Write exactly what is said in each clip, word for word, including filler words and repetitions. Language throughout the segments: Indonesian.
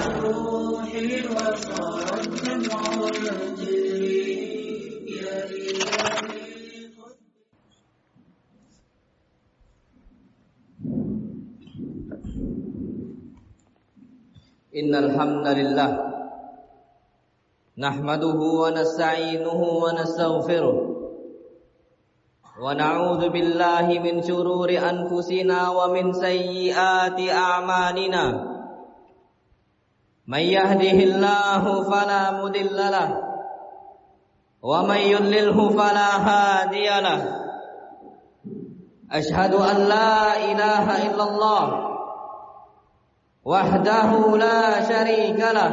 الروح وصار الدمع يجري يا إلهي. Innal hamdalillah nahmaduhu wa nasta'inuhu wa nastaghfiruh wa na'udzu billahi min shururi anfusina wa min sayyiati a'malina. May yahdihillahu fala mudilla lahu wa may yudlilhu fala hadiya lahu. Ashhadu an la ilaha illallah wahdahu la syarika lah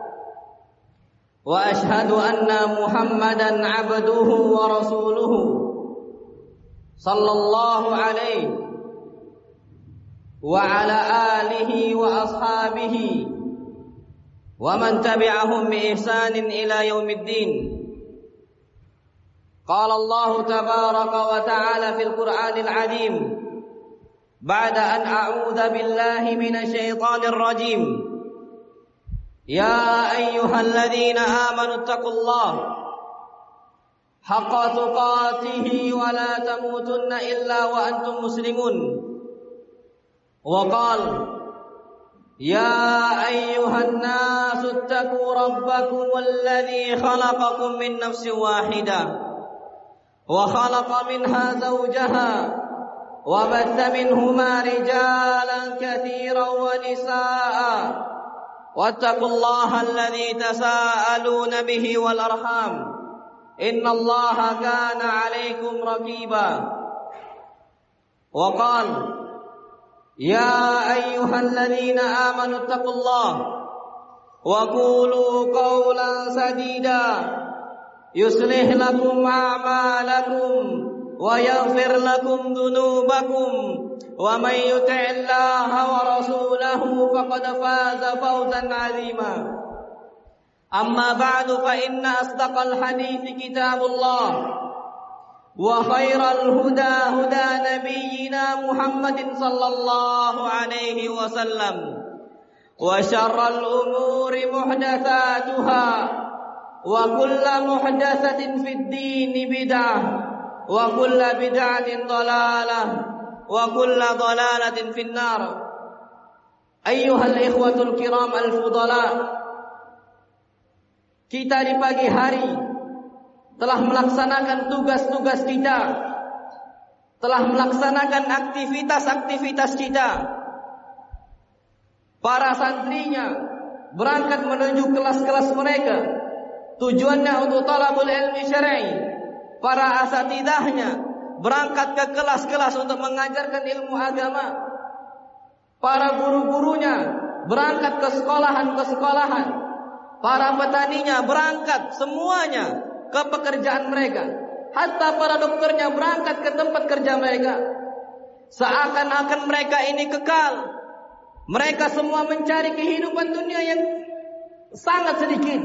wa ashhadu anna Muhammadan abduhu wa rasuluhu sallallahu alaihi wa ala alihi wa ashabihi wa man tabi'ahum bi ihsanin ila yaumiddin. Qala Allah tabaraka wa ta'ala fil Qur'anil 'azim بعد أن أعوذ بالله من الشيطان الرجيم يا أيها الذين آمنوا اتقوا الله حق تقاته ولا تموتن إلا وأنتم مسلمون. وقال يا أيها الناس اتقوا ربكم الذي خلقكم من نفس واحدة وخلق منها زوجها وبث منهما رجالا كثيرا ونساء واتقوا الله الذي تساءلون به والأرحام إن الله كان عليكم رقيبا. وقال يا أيها الذين آمنوا اتقوا الله وقولوا قولا سديدا يصلح لكم أعمالكم ويغفر لكم ذنوبكم ومن يطع الله ورسوله فقد فاز فوزا عظيما. أما بعد فإن أصدق الحديث كتاب الله وخير الهدى هدى نبينا محمد صلى الله عليه وسلم وشر الأمور محدثاتها وكل محدثة في الدين بدعة wa kulla bid'atin dhalalah wa kulla dhalalatin finnar. Ayyuhal ikhwatul kiram al-fudala, kita di pagi hari telah melaksanakan tugas-tugas kita, telah melaksanakan aktivitas-aktivitas kita. Para santrinya berangkat menuju kelas-kelas mereka, tujuannya untuk talabul ilmi syar'i. Para asatidahnya berangkat ke kelas-kelas untuk mengajarkan ilmu agama. Para guru-gurunya berangkat ke sekolahan ke sekolahan. Para petaninya berangkat semuanya ke pekerjaan mereka. Hatta para dokternya berangkat ke tempat kerja mereka. Seakan-akan mereka ini kekal. Mereka semua mencari kehidupan dunia yang sangat sedikit.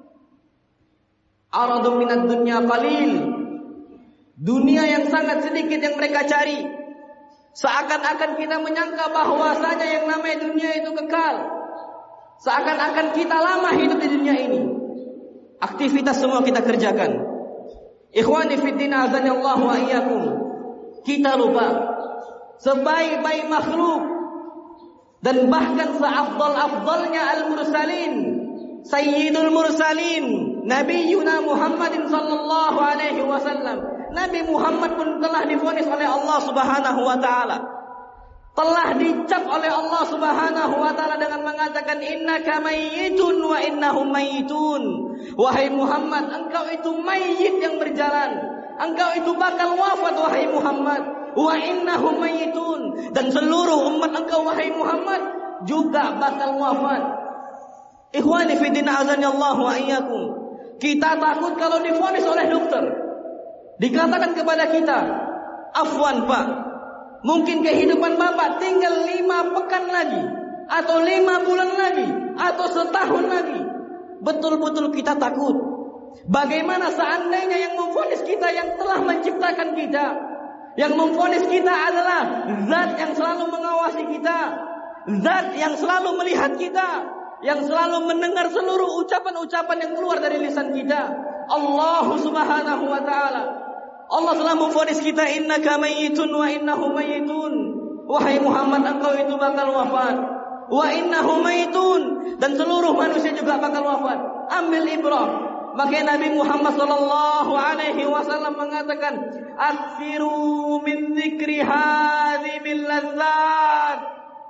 Aradun minad dunya qalil. Dunia yang sangat sedikit yang mereka cari. Seakan-akan kita menyangka bahwasanya yang namanya dunia itu kekal. Seakan-akan kita lama hidup di dunia ini. Aktivitas semua kita kerjakan. Ikhwani fiddin azanillahu wa iyyakum. Kita lupa sebaik-baik makhluk dan bahkan seafdal-afdalnya al-mursalin, sayyidul mursalin, Nabiyuna Muhammadin sallallahu alaihi wasallam. Nabi Muhammad pun telah divonis oleh Allah Subhanahu wa taala. Telah dicap oleh Allah Subhanahu wa taala dengan mengatakan innaka mayyitun wa innahum mayyitun. Wahai Muhammad, engkau itu mayit yang berjalan. Engkau itu bakal wafat wahai Muhammad. Wa innahum mayyitun, dan seluruh umat engkau wahai Muhammad juga bakal wafat. Ikhwani fi din azanillahu wa iyyakum. Kita takut kalau divonis oleh dokter. Dikatakan kepada kita, afwan Pak, mungkin kehidupan Bapak tinggal lima pekan lagi, atau lima bulan lagi, atau setahun lagi. Betul-betul kita takut. Bagaimana seandainya yang memvonis kita yang telah menciptakan kita, yang memvonis kita adalah zat yang selalu mengawasi kita, zat yang selalu melihat kita, yang selalu mendengar seluruh ucapan-ucapan yang keluar dari lisan kita. Allah Subhanahu wa taala. Allah telah memvonis kita, innaka mayyitun wa innahum mayyitun. Wahai Muhammad, engkau itu bakal wafat. Wa innahum mayyitun, dan seluruh manusia juga bakal wafat. Ambil ibrah. Maka Nabi Muhammad sallallahu alaihi wasallam mengatakan, "Aksiru min dzikri hadhimil ladzat."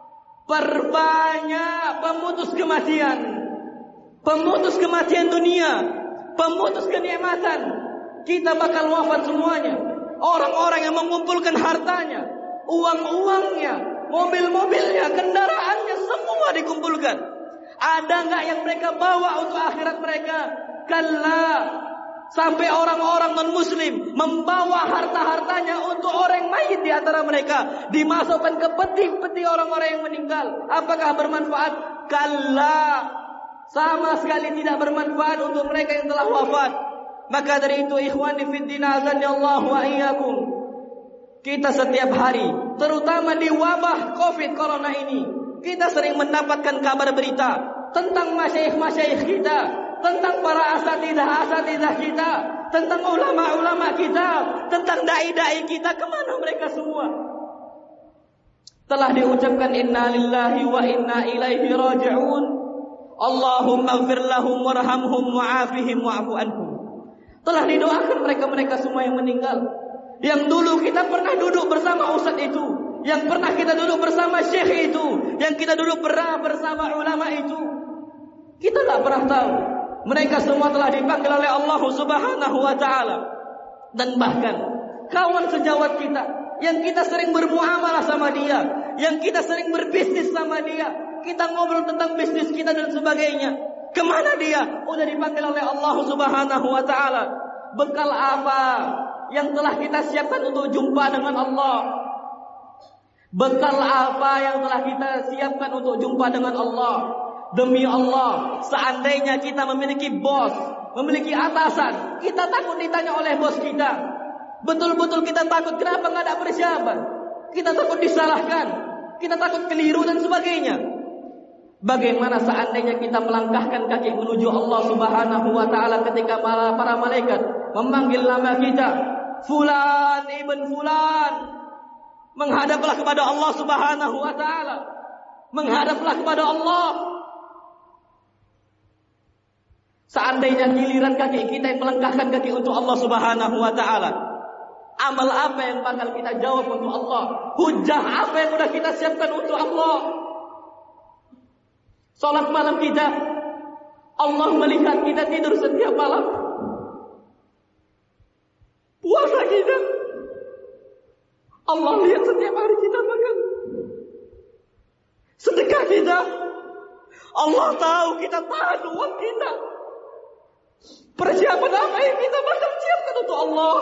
Perbanyak pemutus kematian. Pemutus kematian dunia, pemutus kenikmatan. Kita bakal wafat semuanya. Orang-orang yang mengumpulkan hartanya, uang-uangnya, mobil-mobilnya, kendaraannya, semua dikumpulkan. Ada enggak yang mereka bawa untuk akhirat mereka? Kalla. Sampai orang-orang non-muslim membawa harta-hartanya untuk orang mayit di antara mereka, dimasukkan ke peti-peti orang-orang yang meninggal. Apakah bermanfaat? Kalla. Sama sekali tidak bermanfaat untuk mereka yang telah wafat. Maka dari itu, ikhwani fiddin azan ya Allah wa iyyakum, kita setiap hari, terutama di wabah Covid Corona ini, kita sering mendapatkan kabar berita tentang masyayikh-masyayikh kita, tentang para asatidah-asatidah kita, tentang ulama-ulama kita, tentang dai-dai kita. Kemana mereka semua? Telah diucapkan inna lillahi wa inna ilaihi raji'un. Allahumma ighfir lahum warhamhum wa'afihim wa'fu anhum. Telah didoakan mereka-mereka semua yang meninggal, yang dulu kita pernah duduk bersama ustaz itu, yang pernah kita duduk bersama syekh itu, yang kita dulu pernah bersama ulama itu. Kita tak pernah tahu. Mereka semua telah dipanggil oleh Allah Subhanahu wa taala. Dan bahkan kawan sejawat kita, yang kita sering bermuamalah sama dia, yang kita sering berbisnis sama dia, kita ngobrol tentang bisnis kita dan sebagainya, kemana dia? Udah dipanggil oleh Allah Subhanahu wa taala. Bekal apa yang telah kita siapkan untuk jumpa dengan Allah? Bekal apa yang telah kita siapkan untuk jumpa dengan Allah? Demi Allah, seandainya kita memiliki bos, memiliki atasan, kita takut ditanya oleh bos kita. Betul-betul kita takut. Kenapa nggak ada persiapan? Kita takut disalahkan, kita takut keliru dan sebagainya. Bagaimana seandainya kita melangkahkan kaki menuju Allah Subhanahu wa taala ketika para, para malaikat memanggil nama kita, fulan ibn fulan, menghadaplah kepada Allah Subhanahu wa taala, menghadaplah kepada Allah. Seandainya giliran kaki kita yang melangkahkan kaki untuk Allah Subhanahu wa taala, amal apa yang bakal kita jawab untuk Allah? Hujah apa yang sudah kita siapkan untuk Allah? Salat malam kita, Allah melihat kita tidur setiap malam. Puasa kita, Allah lihat setiap hari kita makan. Sedekah kita, Allah tahu kita tahan uang kita. Persiapan apa yang kita bakal siapkan untuk Allah?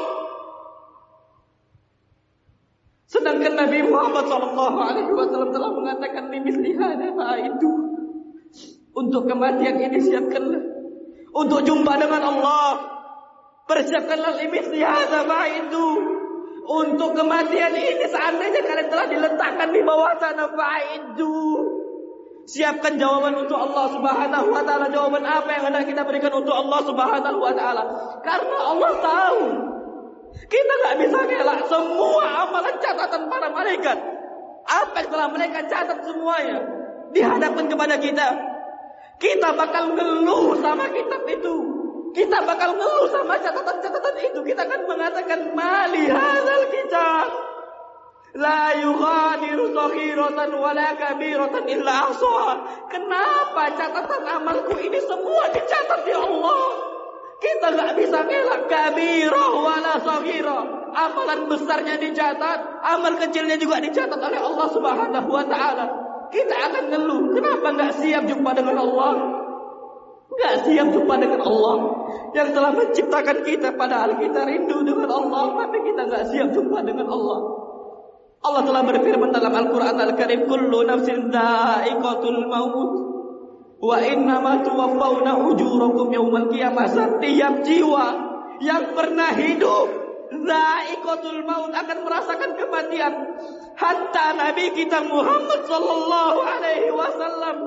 Sedangkan Nabi Muhammad shallallahu alaihi wasallam telah mengatakan, "Limithli hadza fa'idu." Untuk kematian ini siapkanlah, untuk jumpa dengan Allah persiapkanlah. Limithli hadza fa'idu. Untuk kematian ini, seandainya kalian telah diletakkan di bawah sana, fa'idu, siapkan jawaban untuk Allah Subhanahu wa taala. Jawaban apa yang hendak kita berikan untuk Allah Subhanahu wa taala? Karena Allah tahu kita enggak bisa ngelak semua amalan catatan para malaikat. Apa yang telah mereka catat semuanya dihadapkan kepada kita. Kita bakal ngeluh sama kitab itu. Kita bakal ngeluh sama catatan-catatan itu. Kita akan mengatakan, mali hadzal kitab la yughadiru saghiratan wala kabiratan illa ahsaha. Kenapa catatan amalku ini semua dicatat ya Allah? Kita enggak bisa ngelak kabirah wala saghirah. Amalan besarnya dicatat, amal kecilnya juga dicatat oleh Allah Subhanahu wa taala. Kita akan ngeluh, kenapa enggak siap jumpa dengan Allah? Enggak siap jumpa dengan Allah yang telah menciptakan kita, padahal kita rindu dengan Allah, tapi kita enggak siap jumpa dengan Allah. Allah telah berfirman dalam Al-Quran Al-Karim, kullu nafsin dha'iqatul maut wa innama tuwaffawna ujurakum yawmal qiyamah. Setiap jiwa yang pernah hidup, dha'iqatul maut, akan merasakan kematian. Hatta Nabi kita Muhammad sallallahu alaihi wasallam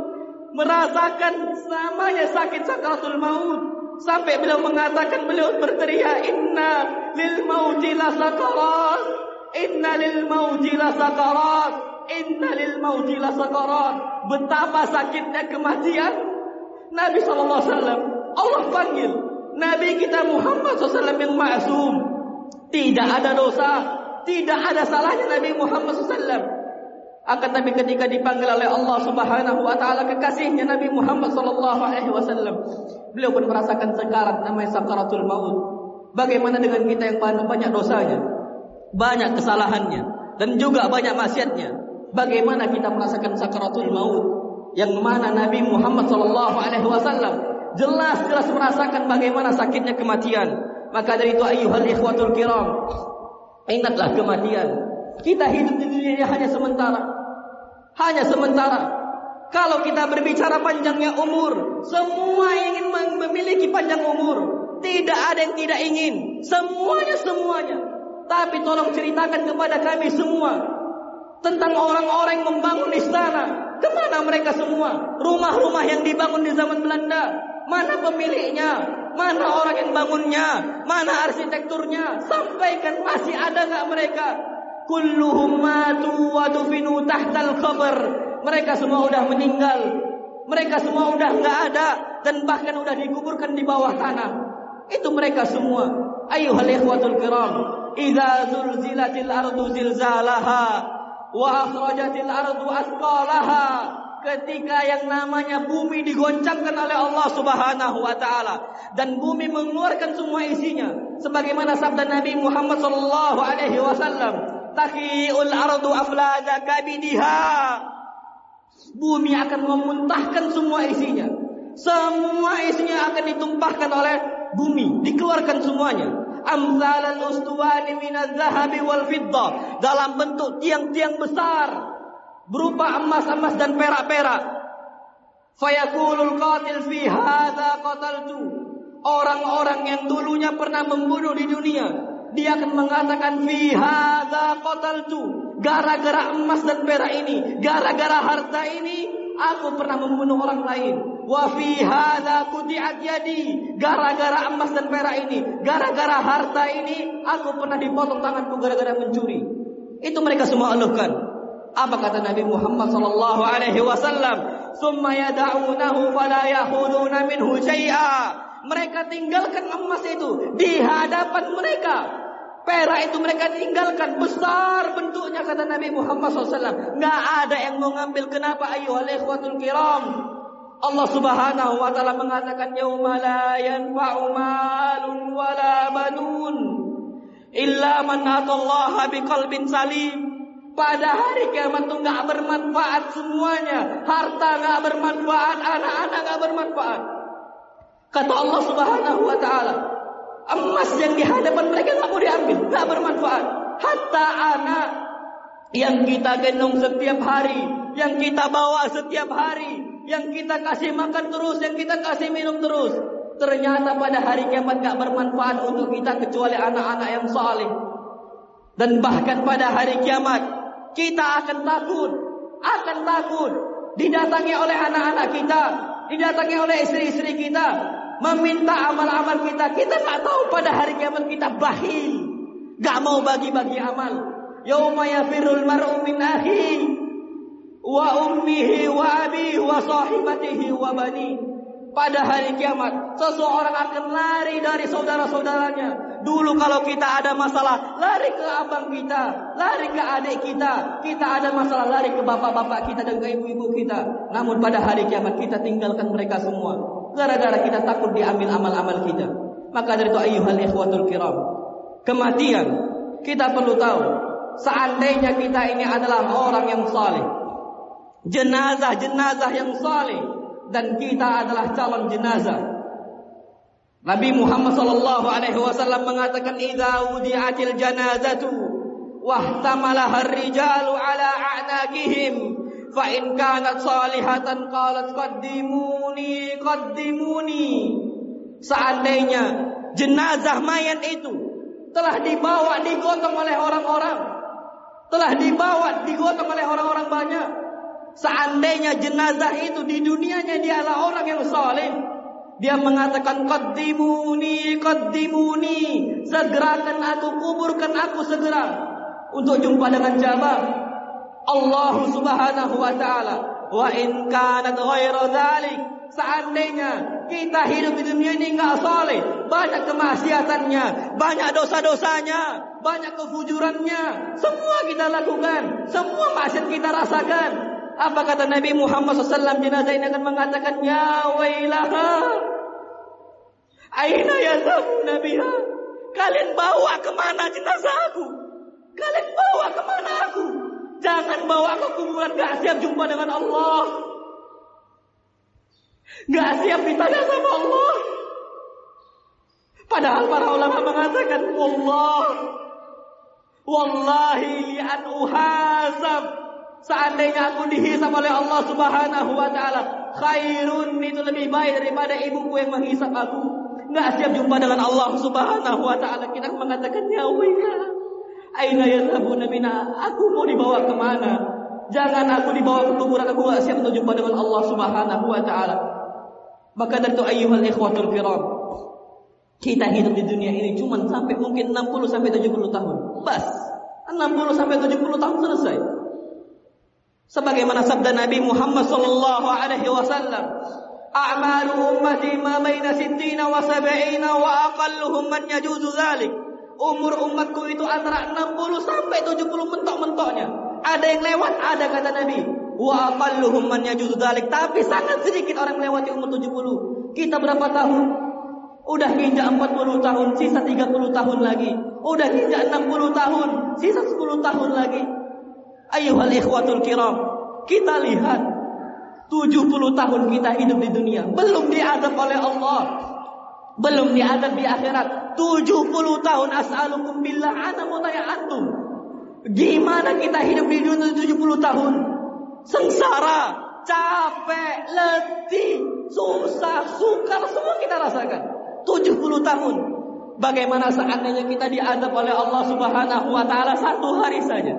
merasakan namanya sakit sakaratul maut. Sampai beliau mengatakan, beliau berteriak, inna lil mauti la sakarat, inna lil mauti la sakarat, inna lil mauti la sakarat. Betapa sakitnya kematian. Nabi sallallahu alaihi wasallam, Allah panggil Nabi kita Muhammad sallallahu alaihi wasallam yang maksum, tidak ada dosa, tidak ada salahnya Nabi Muhammad sallallahu alaihi wasallam. Akan tapi ketika dipanggil oleh Allah Subhanahu wa taala kekasihnya Nabi Muhammad sallallahu alaihi wasallam, beliau pun merasakan sekarat namanya sakaratul maut. Bagaimana dengan kita yang banyak dosanya, banyak kesalahannya, dan juga banyak maksiatnya? Bagaimana kita merasakan sakaratul maut? Yang mana Nabi Muhammad sallallahu alaihi wasallam jelas-jelas merasakan bagaimana sakitnya kematian. Maka dari itu ayyuhal ikhwatul kiram, ingatlah kematian. Kita hidup di dunia ini hanya sementara. Hanya sementara. Kalau kita berbicara panjangnya umur, semua ingin memiliki panjang umur. Tidak ada yang tidak ingin. Semuanya, semuanya. Tapi tolong ceritakan kepada kami semua tentang orang-orang yang membangun istana. Kemana mereka semua? Rumah-rumah yang dibangun di zaman Belanda, mana pemiliknya? Mana orang yang bangunnya? Mana arsitekturnya? Sampaikan, masih ada nggak mereka? Kulluhum matu wa dufinu tahtal qabr. Mereka semua udah meninggal. Mereka semua udah nggak ada dan bahkan udah dikuburkan di bawah tanah. Itu mereka semua. Ayyuhal ikhwatul kiram, idza zulzilatil ardu zilzalaha wa akhrajatil ardu athqalaha. Ketika yang namanya bumi digoncangkan oleh Allah Subhanahu wa taala dan bumi mengeluarkan semua isinya, sebagaimana sabda Nabi Muhammad sallallahu alaihi wasallam, taqiul ardu aflada kabidiha. Bumi akan memuntahkan semua isinya. Semua isinya akan ditumpahkan oleh bumi, dikeluarkan semuanya. Amsalal ustuwani minaz zahabi wal fiddah, dalam bentuk tiang-tiang besar berupa emas-emas dan perak-perak. Fayaqulul qatil fi hadza qataltu. Orang-orang yang dulunya pernah membunuh di dunia, dia akan mengatakan fi hadza qataltu. Gara-gara emas dan perak ini, gara-gara harta ini, aku pernah membunuh orang lain. Wa fi hadza quti'at yadi. Gara-gara emas dan perak ini, gara-gara harta ini, aku pernah dipotong tanganku gara-gara mencuri. Itu mereka semua aluhkan. Apa kata Nabi Muhammad sallallahu alaihi wasallam? Summa yad'unahu fala ya'khuduna minhu syai'a. Mereka tinggalkan emas itu di hadapan mereka. Perak itu mereka tinggalkan, besar bentuknya, kata Nabi Muhammad sallallahu alaihi wasallam. Nggak ada yang mau ngambil. Kenapa? Ayyuhal ikhwatul kiram, Allah Subhanahu wa taala mengatakan yauma la yanfa'u malun wala banun illa man atallaha biqalbin salim. Pada hari kiamat itu nggak bermanfaat semuanya. Harta nggak bermanfaat, anak-anak nggak bermanfaat. Kata Allah Subhanahu wa taala, emas yang di hadapan mereka nggak mau diambil, nggak bermanfaat. Hatta anak yang kita gendong setiap hari, yang kita bawa setiap hari, yang kita kasih makan terus, yang kita kasih minum terus, ternyata pada hari kiamat nggak bermanfaat untuk kita kecuali anak-anak yang saleh. Dan bahkan pada hari kiamat kita akan takut, akan takut didatangi oleh anak-anak kita, didatangi oleh istri-istri kita, meminta amal-amal kita. Kita tak tahu pada hari kiamat kita bakhil, gak mau bagi-bagi amal. Yauma yafirul mar'u min akhihi wa ummihi wa abihi wa sahibatihi wa bani. Pada hari kiamat seseorang akan lari dari saudara-saudaranya. Dulu kalau kita ada masalah, lari ke abang kita, lari ke adik kita. Kita ada masalah, lari ke bapak-bapak kita dan ke ibu-ibu kita. Namun pada hari kiamat kita tinggalkan mereka semua, gara-gara kita takut diambil amal-amal kita. Maka dari itu ayyuhal ikhwatul kiram, kematian kita perlu tahu. Seandainya kita ini adalah orang yang saleh, jenazah-jenazah yang saleh, dan kita adalah calon jenazah. Nabi Muhammad sallallahu alaihi wasallam mengatakan idza wudi'atil janazatu wahtamalaha ar-rijalu ala a'naqihim fa in kanat salihatan qalat qaddimuni qaddimuni. Seandainya jenazah mayat itu telah dibawa digotong oleh orang-orang, telah dibawa digotong oleh orang-orang banyak, Seandainya jenazah itu di dunianya dialah orang yang saleh, dia mengatakan qaddimuni qaddimuni, segerakan aku, kuburkan aku segera untuk jumpa dengan jabal Allah Subhanahu wa taala. Wa in kanat ghairu dzalik, seandainya kita hidup di dunia ini enggak saleh, banyak kemaksiatannya, banyak dosa-dosanya, banyak kefujurannya, semua kita lakukan, semua maksiat kita rasakan. Apa kata Nabi Muhammad shallallahu alaihi wasallam? Jenazah ini akan mengatakan, ya wailaha, aina yazhabuna biha. Kalian bawa kemana jenazah aku? Kalian bawa kemana aku? Jangan bawa ke kuburan, gak siap jumpa dengan Allah, gak siap ditanya sama Allah. Padahal para ulama mengatakan, wallah, wallahi li an uhasab, seandainya aku dihisab oleh Allah Subhanahu wa taala, khairun, itu lebih baik daripada ibuku yang menghisab aku. Enggak siap jumpa dengan Allah Subhanahu wa taala. Kita mengatakan, ya wailah, aina yazhabuna bina, aku mau dibawa kemana? Jangan aku dibawa ke kuburan, aku enggak siap untuk jumpa dengan Allah Subhanahu wa taala. Maka dari itu ayyuhal ikhwatul kiram, kita hidup di dunia ini cuma sampai mungkin enam puluh sampai tujuh puluh tahun. Bas, enam puluh sampai tujuh puluh tahun selesai. Sebagaimana sabda Nabi Muhammad sallallahu alaihi wasallam, a'malu ummati ma baina sittina wa sab'ina wa aqalluhum man yajuzu dzalik. Umur umatku itu antara enam puluh sampai tujuh puluh mentok-mentoknya. Ada yang lewat, ada kata Nabi. Wa aqalluhum man yajuzu dzalik. Tapi sangat sedikit orang melewati umur tujuh puluh. Kita berapa tahun? Udah nginjak empat puluh tahun, sisa tiga puluh tahun lagi. Udah nginjak enam puluh tahun, sisa sepuluh tahun lagi. Ayyuhal ikhwatul kiram, kita lihat tujuh puluh tahun kita hidup di dunia, belum diadab oleh Allah, belum diadab di akhirat. tujuh puluh tahun, as'alukum billah, ana mau tanya antum, gimana kita hidup di dunia tujuh puluh tahun? Sengsara, capek, letih, susah, sukar, semua kita rasakan. tujuh puluh tahun. Bagaimana seandainya kita diadab oleh Allah Subhanahu wa taala satu hari saja?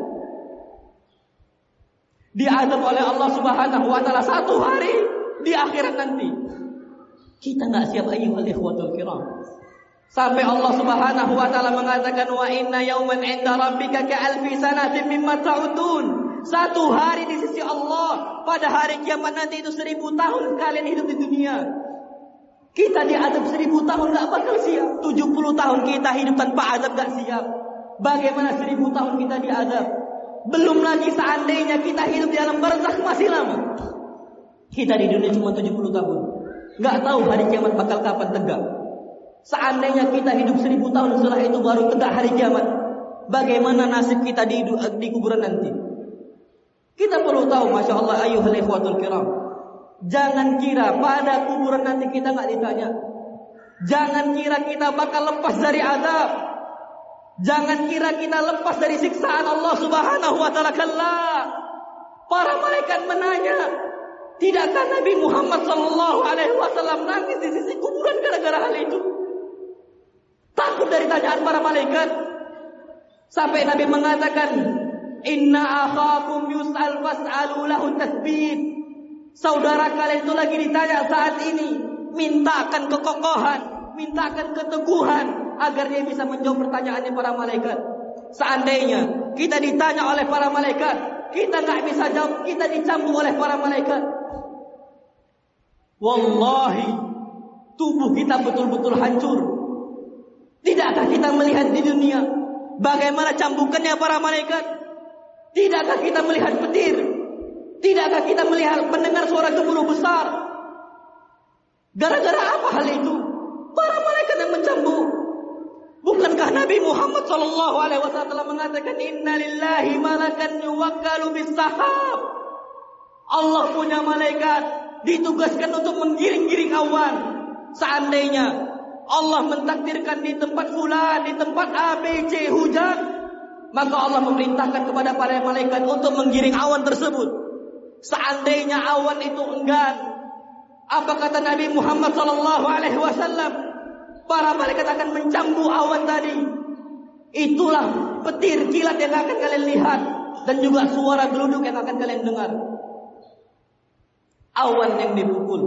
Diadab oleh Allah Subhanahu wa taala satu hari di akhirat nanti. Kita enggak siap ayyuhal ikhwatul kiram. Sampai Allah Subhanahu wa taala mengatakan, wa inna yawman 'inda rabbika ka'alfi sanatin mimma ta'udun. Satu hari di sisi Allah pada hari kiamat nanti itu seribu tahun kalian hidup di dunia. Kita diadab seribu tahun gak bakal siap. tujuh puluh tahun kita hidup tanpa adab gak siap. Bagaimana seribu tahun kita diadab? Belum lagi seandainya kita hidup di alam barzakh masih lama. Kita di dunia cuma tujuh puluh tahun. Gak tahu hari kiamat bakal kapan tegak. Seandainya kita hidup seribu tahun setelah itu baru tegak hari kiamat, bagaimana nasib kita di, di kuburan nanti? Kita perlu tahu, masya Allah, ayyuhal ikhwatul kiram, jangan kira pada kuburan nanti kita gak ditanya. Jangan kira kita bakal lepas dari azab. Jangan kira kita lepas dari siksaan Allah Subhanahu wa taala. Kalla. Para malaikat menanya, tidakkah Nabi Muhammad sallallahu alaihi wasallam nangis di sisi kuburan gara-gara hal itu? Takut dari tanyaan para malaikat. Sampai Nabi mengatakan, inna akhakum yus'al fas'alu lahu tasbih. Saudara kalian itu lagi ditanya saat ini, mintakan kekokohan, mintakan keteguhan agar dia bisa menjawab pertanyaannya para malaikat. Seandainya kita ditanya oleh para malaikat, kita nggak bisa jawab, kita dicambuk oleh para malaikat. Wallahi, tubuh kita betul-betul hancur. Tidakkah kita melihat di dunia bagaimana cambukannya para malaikat? Tidakkah kita melihat petir? Tidakkah kita melihat mendengar suara gemuruh besar? Gara-gara apa hal itu? Para malaikat yang mencambuk. Bukankah Nabi Muhammad sallallahu alaihi wasallam mengatakan, inna lillahi malakan yuwakkalu bis-sahab. Allah punya malaikat ditugaskan untuk menggiring-giring awan. Seandainya Allah mentakdirkan di tempat fulan, di tempat A, B, C hujan, maka Allah memerintahkan kepada para malaikat untuk menggiring awan tersebut. Seandainya awan itu enggan, apa kata Nabi Muhammad sallallahu alaihi wasallam? Para malaikat akan mencambuk awan tadi. Itulah petir kilat yang akan kalian lihat dan juga suara geluduk yang akan kalian dengar. awan yang dipukul,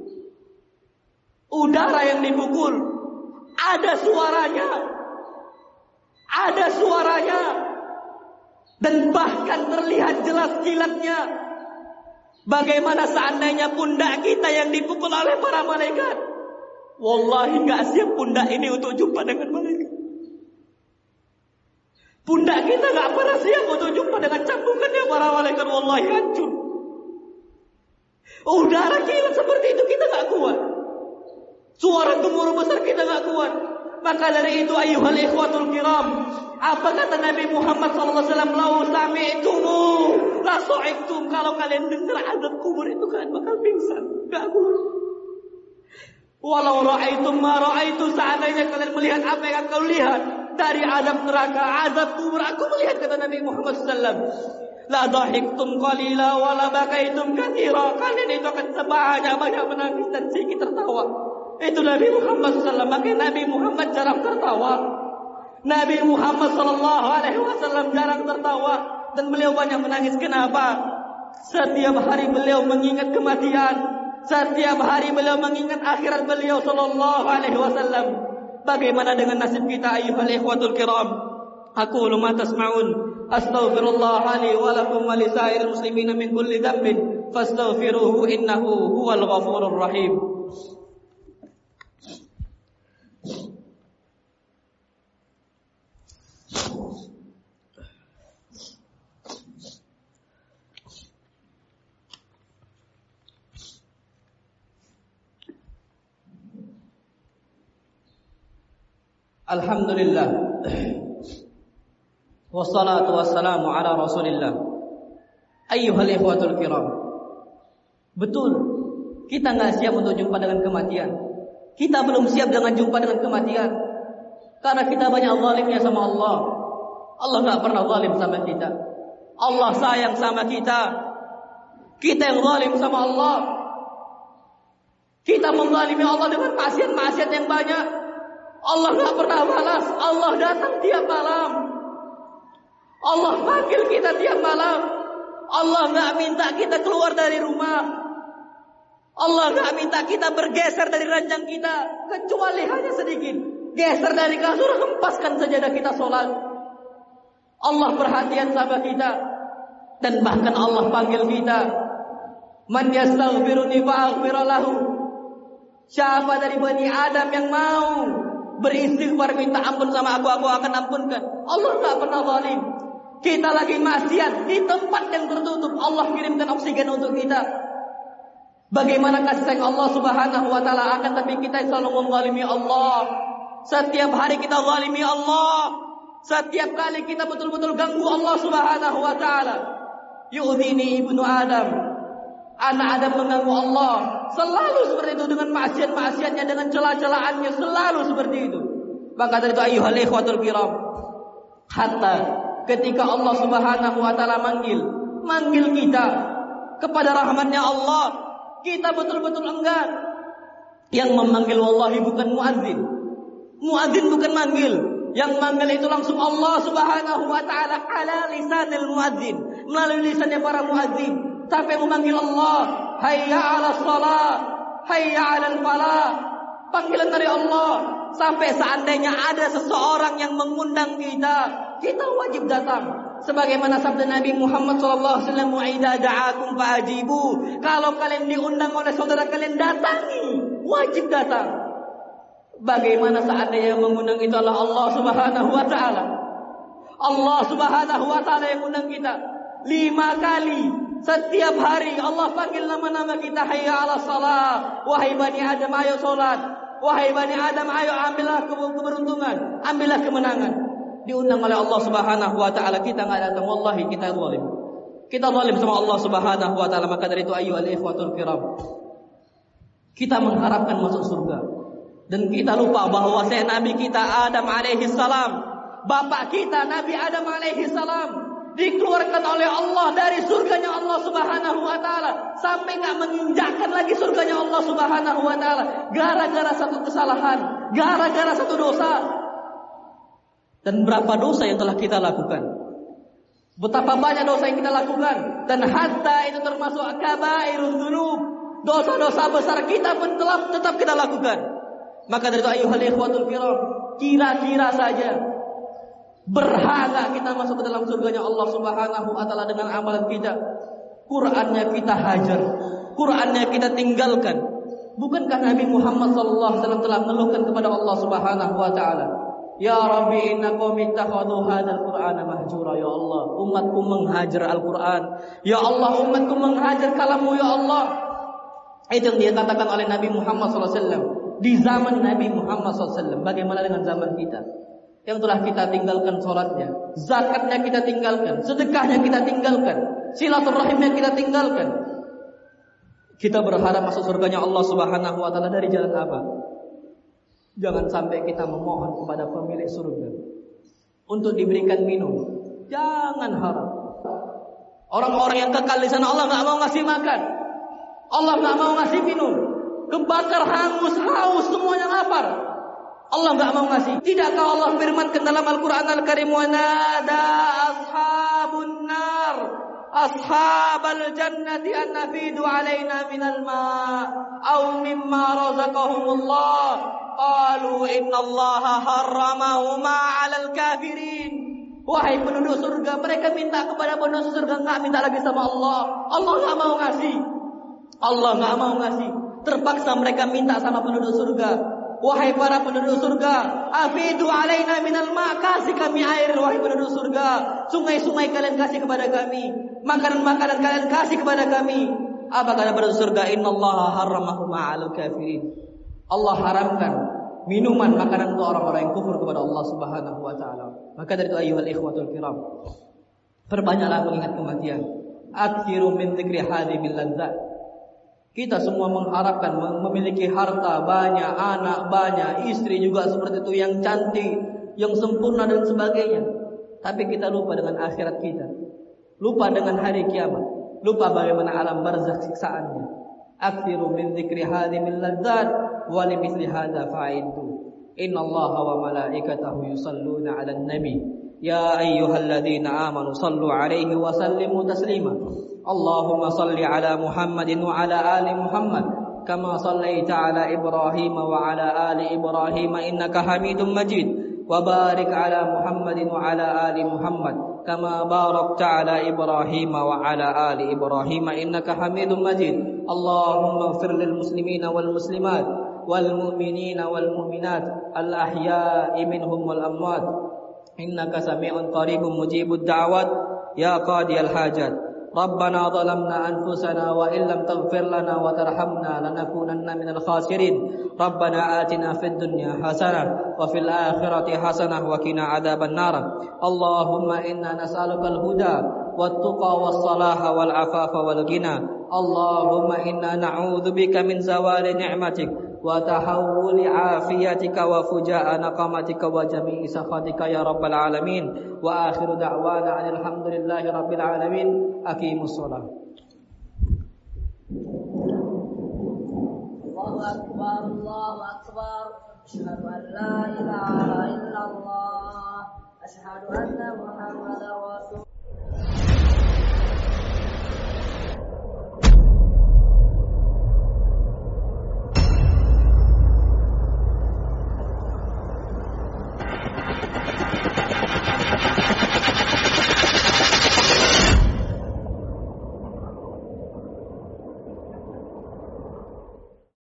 udara yang dipukul, ada suaranya, ada suaranya, dan bahkan terlihat jelas kilatnya. Bagaimana seandainya pundak kita yang dipukul oleh para malaikat? Wallahi gak siap pundak ini untuk jumpa dengan malaikat. Pundak kita gak pernah siap untuk jumpa dengan cambukannya para malaikat. Wallahi hancur. Udara kilat seperti itu kita gak kuat. Suara gemuruh besar kita gak kuat. Maka dari itu ayyuhal ikhwatul kiram, apa kata Nabi Muhammad sallallahu alaihi wasallam? Lau sami'tumu la su'iktum. Kalau kalian dengar azab kubur itu kalian bakal pingsan, gak kuat. Walau ra'aitum ma ra'aitu, seandainya kalian melihat apa yang kau lihat dari azab neraka, azab kubur, aku melihat, kata Nabi Muhammad sallallahu alaihi wasallam, la dhahiktum qalila wa la bakaitum katsira. Kalian itu akan sebanyak-banyak menangis dan sedikit tertawa. Itu Nabi Muhammad sallallahu alaihi wasallam. Maka Nabi Muhammad jarang tertawa. Nabi Muhammad sallallahu alaihi wasallam jarang tertawa dan beliau banyak menangis. Kenapa? Setiap hari beliau mengingat kematian. Setiap hari beliau mengingat akhirat beliau sallallahu alaihi wasallam. Bagaimana dengan nasib kita ayyuhal ikhwatul kiram? Aqulu ma tasma'un, astaghfirullah li wa lakum wa lisairil muslimin min kulli dhanbin fastaghfiruhu innahu huwal ghafurur rahim. Alhamdulillah, wassalatu wassalamu ala rasulillah. Ayyuhal ikhwatul kiram, betul kita gak siap untuk jumpa dengan kematian. Kita belum siap dengan jumpa dengan kematian, karena kita banyak zalimnya sama Allah. Allah gak pernah zalim sama kita. Allah sayang sama kita. Kita yang zalim sama Allah. Kita menzalimi Allah dengan maksiat-maksiat yang banyak. Allah gak pernah balas. Allah datang tiap malam. Allah panggil kita tiap malam. Allah gak minta kita keluar dari rumah. Allah gak minta kita bergeser dari ranjang kita, kecuali hanya sedikit. Geser dari kasur, hempaskan sajadah kita sholat. Allah perhatian sama kita. Dan bahkan Allah panggil kita, man yastaghfiruni fa'aghfir lahu. Siapa dari Bani Adam yang mau beristighfar, minta ampun sama aku, aku akan ampunkan. Allah tak pernah zalim. Kita lagi maksiat di tempat yang tertutup, Allah kirimkan oksigen untuk kita. Bagaimana kasih sayang Allah subhanahu wa ta'ala, akan tapi kita selalu menzalimi Allah. Setiap hari kita zalimi Allah. Setiap kali kita betul-betul ganggu Allah subhanahu wa ta'ala. Yu'dhini ibnu Adam, anak Adam mengganggu Allah. Selalu seperti itu, dengan maksiat-maksiatnya, dengan celah-celahannya, selalu seperti itu. Maka dari itu ayyuhal ikhwatul kiram, hatta ketika Allah subhanahu wa ta'ala manggil Manggil kita kepada rahmatnya Allah, kita betul-betul enggan. Yang memanggil wallahi bukan muadzin. Muadzin bukan manggil. Yang manggil itu langsung Allah subhanahu wa ta'ala ala lisanil muadzin, melalui lisannya para muadzin. Sampai memanggil Allah, hayya ala salat, hayya ala falah. Panggilan dari Allah. Sampai seandainya ada seseorang yang mengundang kita, kita wajib datang. Sebagaimana sabda Nabi Muhammad sallallahu alaihi wasallam, wa idza da'akum fa'ajibu. Kalau kalian diundang oleh saudara kalian, datangi, wajib datang. Bagaimana seandainya yang mengundang itu adalah Allah subhanahu wa ta'ala. Allah subhanahu wa ta'ala yang mengundang kita. Lima kali setiap hari Allah panggil nama-nama kita, hayya ala salat, wahai Bani Adam ayo salat, wahai Bani Adam ayo ambillah keberuntungan, ambillah kemenangan. Diundang oleh Allah subhanahu wa ta'ala, kita enggak datang, wallahi kita zalim. Kita zalim sama Allah subhanahu wa ta'ala. Maka dari itu ayyuhal ikhwatul kiram, kita mengharapkan masuk surga, dan kita lupa bahwa saya Nabi kita Adam alaihi salam, bapak kita Nabi Adam alaihi salam, dikeluarkan oleh Allah dari surganya Allah subhanahu wa ta'ala, sampai gak menginjakkan lagi surganya Allah subhanahu wa ta'ala, gara-gara satu kesalahan, gara-gara satu dosa. Dan berapa dosa yang telah kita lakukan, betapa banyak dosa yang kita lakukan. Dan hatta itu termasuk kabairun dzunub, dosa-dosa besar kita pun telah tetap kita lakukan. Maka dari itu ayuhal ikhwatul kiram, kira-kira saja berhala kita masuk ke dalam surganya Allah Subhanahu wa taala dengan amalan kita. Qur'annya kita hajar, Qur'annya kita tinggalkan. Bukankah Nabi Muhammad sallallahu alaihi wasallam telah mengeluhkan kepada Allah Subhanahu wa taala, "Ya Rabbi, inna qaumi ittakhadhu hadzal Qur'ana mahjura." Ya Allah, umatku menghajar Al-Qur'an. Ya Allah, umatku menghajar kalammu ya Allah. Itu yang dia katakan oleh Nabi Muhammad sallallahu alaihi wasallam di zaman Nabi Muhammad sallallahu alaihi wasallam. Bagaimana dengan zaman kita? Yang telah kita tinggalkan sholatnya, zakatnya kita tinggalkan, sedekahnya kita tinggalkan, silaturahimnya kita tinggalkan. Kita berharap masuk surganya Allah Subhanahu wa taala dari jalan apa? Jangan sampai kita memohon kepada pemilik surga untuk diberikan minum. Jangan harap. Orang-orang yang kekal di sana Allah enggak mau ngasih makan. Allah enggak mau ngasih minum. Kebakar, hangus, haus, semuanya lapar. Allah enggak mau ngasih. Tidakkah Allah firmankan dalam Al-Qur'an Al-Karim, "Wa nada ashabun nar ashabal jannati an nafidu alaina minal ma' aw mimma razaqahumullah qalu innallaha harramahuma 'alal kafirin." Wahai penduduk surga, mereka minta kepada penduduk surga, enggak minta lagi sama Allah. Allah enggak mau ngasih. Allah enggak mau ngasih. Terpaksa mereka minta sama penduduk surga. Wahai para penduduk surga, afidu alaina minal ma', kasih kami air wahai penduduk surga. Sungai-sungai kalian kasih kepada kami, makanan-makanan kalian kasih kepada kami. Apa kata penduduk surga? Innallaha harramahu ma'al kafirin. Allah haramkan minuman, makanan untuk orang-orang yang kufur kepada Allah Subhanahu wa taala. Maka dari itu ayyuhal ikhwatul kiram, perbanyaklah mengingat kematian. Akthiru min dzikri hadimil ladzat. Kita semua mengharapkan memiliki harta banyak, anak banyak, istri juga seperti itu yang cantik, yang sempurna dan sebagainya. Tapi kita lupa dengan akhirat kita, lupa dengan hari kiamat, lupa bagaimana alam barzakh siksaannya. Aktsiru min dzikri hadimil ladzat wa limithli hadza fa'iddu. Innallaha wa malaikatahu yusalluna 'alan nabi. Ya ayyuhalladzina amanu sallu 'alaihi wa sallimu taslima. Allahumma salli 'ala Muhammadin wa 'ala ali Muhammad kama sallaita 'ala Ibrahim wa 'ala ali Ibrahim innaka Hamidum Majid. Wa barik 'ala Muhammadin wa 'ala ali Muhammad kama barakta 'ala Ibrahim wa 'ala ali Ibrahim innaka Hamidum Majid. Allahumma ighfir lil muslimina wal muslimat wal mu'minina wal mu'minat al ahya'i minhum wal amwat. Innaka sami'un qaribun mujibud da'wat ya qadiyal hajat. Rabbana zalamna anfusana wa illam taghfir lana wa tarhamna lanakunanna minal khasirin. Rabbana atina fid dunya hasanah wa fil akhirati hasanah wa qina adzaban nar. Allahumma inna nas'aluka al-huda wat tuqa was salaha wal afafa wal ghina. Allahumma inna na'udzubika min zawali ni'matik wa tahawuli afiyatika wa fuja'a naqamatika wa jami'i sakhatika ya rabbal alamin. Wa akhiru da'wana alhamdulillahi rabbil alamin. Aqimus shalah. Allahu akbar, Allahu akbar. Asyhadu an la ilaha illallah. Asyhadu anna Muhammadar rasul